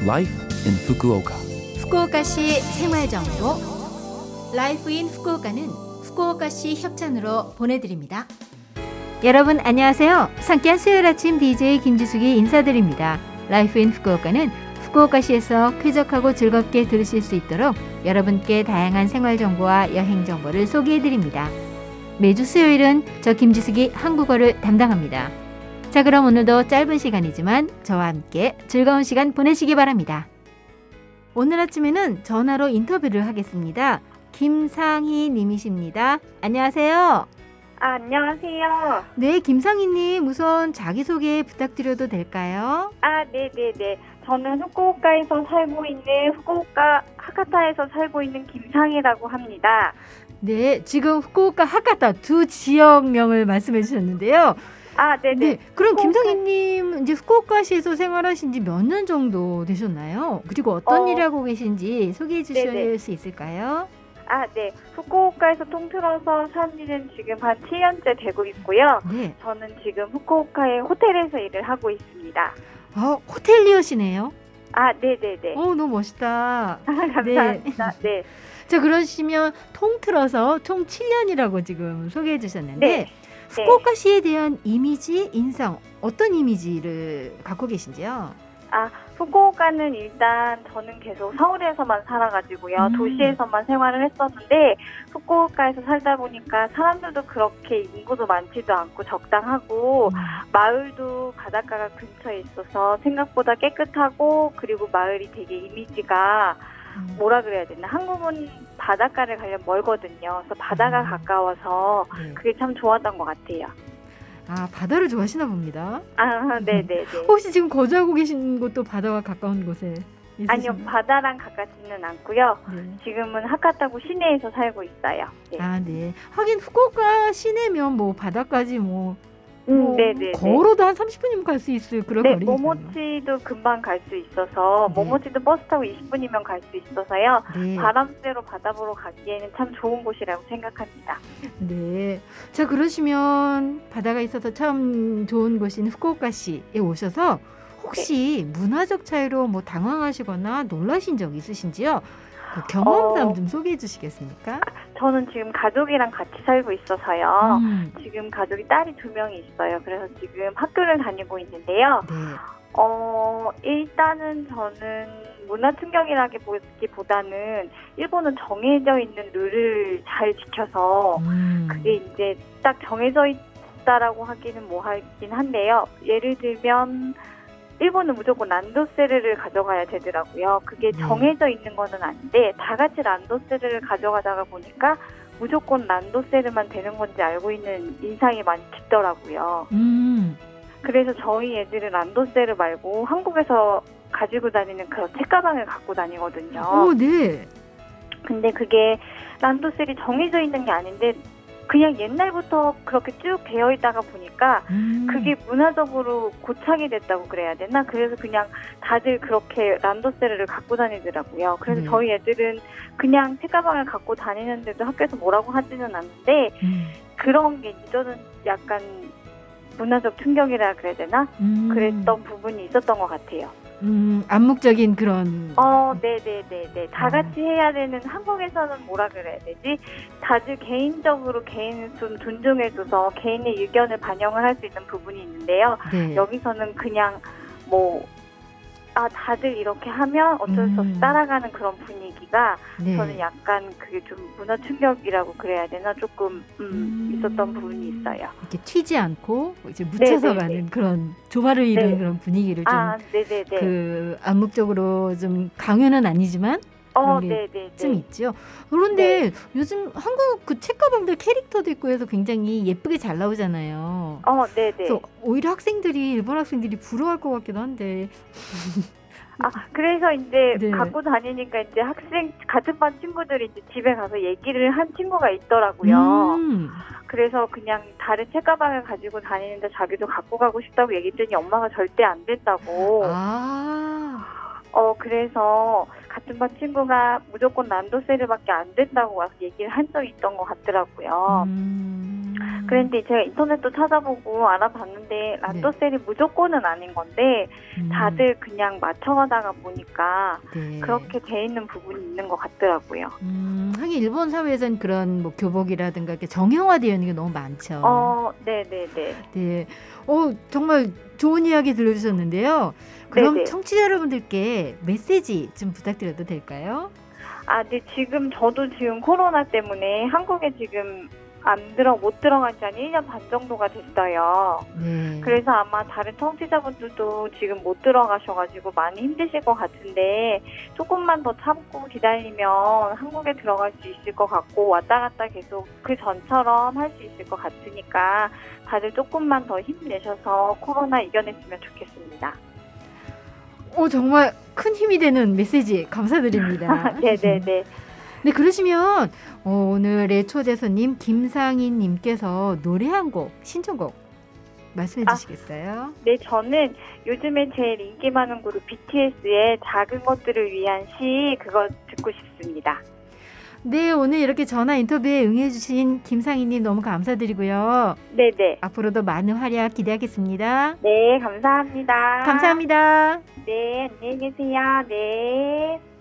Life in Fukuoka. 후쿠오카시 생활정보 라이프 인 후쿠오카는 후쿠오카시 협찬으로 보내드립니다. 여러분 안녕하세요. 상쾌한 수요일 아침 DJ 김지숙이 인사드립니다. 라이프 인 후쿠오카는 후쿠오카시에서 쾌적하고 즐겁게 들으실 수 있도록 여러분께 다양한 생활정보와 여행정보를 소개해드립니다. 매주 수요일은 저 김지숙이 한국어를 담당합니다. 자, 그럼 오늘도 짧은 시간이지만 저와 함께 즐거운 시간 보내시기 바랍니다. 오늘 아침에는 전화로 인터뷰를 하겠습니다. 김상희 님이십니다. 안녕하세요. 안녕하세요. 네, 김상희 님 우선 자기소개 부탁드려도 될까요? 네네네. 저는 후쿠오카에서 살고 있는 후쿠오카 하카타에서 살고 있는 김상희라고 합니다. 네, 지금 후쿠오카 하카타 두 지역명을 말씀해 주셨는데요. 네네. 네, 그럼 후쿠오카... 김상희님 이제 후쿠오카시에서 생활하신 지 몇 년 정도 되셨나요? 그리고 어떤 일 하고 계신지 소개해 주실 네네. 수 있을까요? 네. 후쿠오카에서 통틀어서 산 지는 지금 한 7년째 되고 있고요. 네. 저는 지금 후쿠오카의 호텔에서 일을 하고 있습니다. 호텔리어시네요. 네네네. 너무 멋있다. 감사합니다. 네. 자, 그러시면 통틀어서 총 7년이라고 지금 소개해 주셨는데 네. 후쿠오카시에 대한 이미지, 인상 어떤 이미지를 갖고 계신지요? 후쿠오카는 일단 저는 계속 서울에서만 살아가지고요. 도시에서만 생활을 했었는데 후쿠오카에서 살다 보니까 사람들도 그렇게 인구도 많지도 않고 적당하고 마을도 바닷가가 근처에 있어서 생각보다 깨끗하고 그리고 마을이 되게 이미지가 뭐라 그래야 되나, 한국은 바닷가를 가려면 멀거든요. 그래서 바다가 가까워서 그게 참 좋았던 것 같아요. 바다를 좋아하시나 봅니다. 네네네. 혹시 지금 거주하고 계신 곳도 바다와 가까운 곳에 있으신가요? 아니요, 바다랑 가깝지는 않고요. 네. 지금은 하카타구 시내에서 살고 있어요. 네. 네. 하긴 후쿠오카 시내면 뭐 바다까지 네네. 걸어도 한 30분이면 갈 수 있을 그런 거리니까요. 모모치도 금방 갈 수 있어서 모모치도 버스 타고 20분이면 갈 수 있어서요. 바람 쐬러 바다 보러 가기에는 참 좋은 곳이라고 생각합니다. 네. 자, 그러시면 바다가 있어서 참 좋은 곳인 후쿠오카시에 오셔서 혹시 문화적 차이로 당황하시거나 놀라신 적 있으신지요? 그 경험담 좀 소개해 주시겠습니까? 저는 지금 가족이랑 같이 살고 있어서요. 지금 가족이 딸이 2명이 있어요. 그래서 지금 학교를 다니고 있는데요. 일단은 저는 문화 충격이라기보다는 일본은 정해져 있는 룰을 잘 지켜서 그게 이제 딱 정해져 있다라고 하기는 하긴 한데요. 예를 들면 일본은 무조건 란도세르를 가져가야 되더라고요. 그게 정해져 있는 거는 아닌데 다 같이 란도세르를 가져가다가 보니까 무조건 란도세르만 되는 건지 알고 있는 인상이 많이 깊더라고요. 그래서 저희 애들은 란도세르 말고 한국에서 가지고 다니는 그런 책가방을 갖고 다니거든요. 네. 근데 그게 란도세르이 정해져 있는 게 아닌데 그냥 옛날부터 그렇게 쭉 되어 있다가 보니까 그게 문화적으로 고착이 됐다고 그래야 되나? 그래서 그냥 다들 그렇게 란도세르를 갖고 다니더라고요. 그래서 저희 애들은 그냥 책가방을 갖고 다니는데도 학교에서 뭐라고 하지는 않는데 그런 게 저는 약간 문화적 충격이라 그래야 되나? 그랬던 부분이 있었던 것 같아요. 암묵적인 그런. 네네네네. 다 같이 해야 되는, 한국에서는 뭐라 그래야 되지? 다들 개인적으로 개인을 좀 존중해줘서 개인의 의견을 반영을 할 수 있는 부분이 있는데요. 여기서는 그냥 다들 이렇게 하면 어쩔 수 없이 따라가는 그런 분위기가 저는 약간 그게 좀 문화 충격이라고 그래야 되나? 조금 있었던 부분이 있어요. 이렇게 튀지 않고 이제 묻혀서 가는 그런 조화를 이루는 그런 분위기를 좀 암묵적으로 좀 강요는 아니지만 그런 게 좀 있죠. 그런데 요즘 한국 그 책가방들 캐릭터도 있고 해서 굉장히 예쁘게 잘 나오잖아요. 그래서 오히려 일본 학생들이 부러워할 것 같기도 한데. 그래서 이제 갖고 다니니까 이제 같은 반 친구들이 이제 집에 가서 얘기를 한 친구가 있더라고요. 그래서 그냥 다른 책가방을 가지고 다니는데 자기도 갖고 가고 싶다고 얘기했더니 엄마가 절대 안 된다고. 그래서 같은 반 친구가 무조건 란도세르밖에 안 된다고 와서 얘기를 한 적이 있던 것 같더라고요. 그런데 제가 인터넷도 찾아보고 알아봤는데 란도셀이 무조건은 아닌 건데 다들 그냥 맞춰가다가 보니까 네. 그렇게 돼 있는 부분이 있는 것 같더라고요. 하긴 일본 사회에서는 그런 뭐 교복이라든가 이렇게 정형화되어 있는 게 너무 많죠. 네네네. 네. 정말 좋은 이야기 들려주셨는데요. 그럼 네네. 청취자 여러분들께 메시지 좀 부탁드려도 될까요? 네, 저도 지금 코로나 때문에 한국에 지금 못 들어간 지 한 1년 반 정도가 됐어요. 네. 그래서 아마 다른 청취자분들도 지금 못 들어가셔가지고 많이 힘드실 것 같은데 조금만 더 참고 기다리면 한국에 들어갈 수 있을 것 같고 왔다 갔다 계속 그 전처럼 할 수 있을 것 같으니까 다들 조금만 더 힘내셔서 코로나 이겨냈으면 좋겠습니다. 정말 큰 힘이 되는 메시지 감사드립니다. 네네네. 네, 그러시면 오늘의 초대 손님 김상인 님께서 노래 한 곡, 신청곡 말씀해 주시겠어요? 네, 저는 요즘에 제일 인기 많은 그룹 BTS의 작은 것들을 위한 시 그거 듣고 싶습니다. 네, 오늘 이렇게 전화 인터뷰에 응해 주신 김상인 님 너무 감사드리고요. 네네. 앞으로도 많은 활약 기대하겠습니다. 네, 감사합니다. 감사합니다. 네, 안녕히 계세요. 네.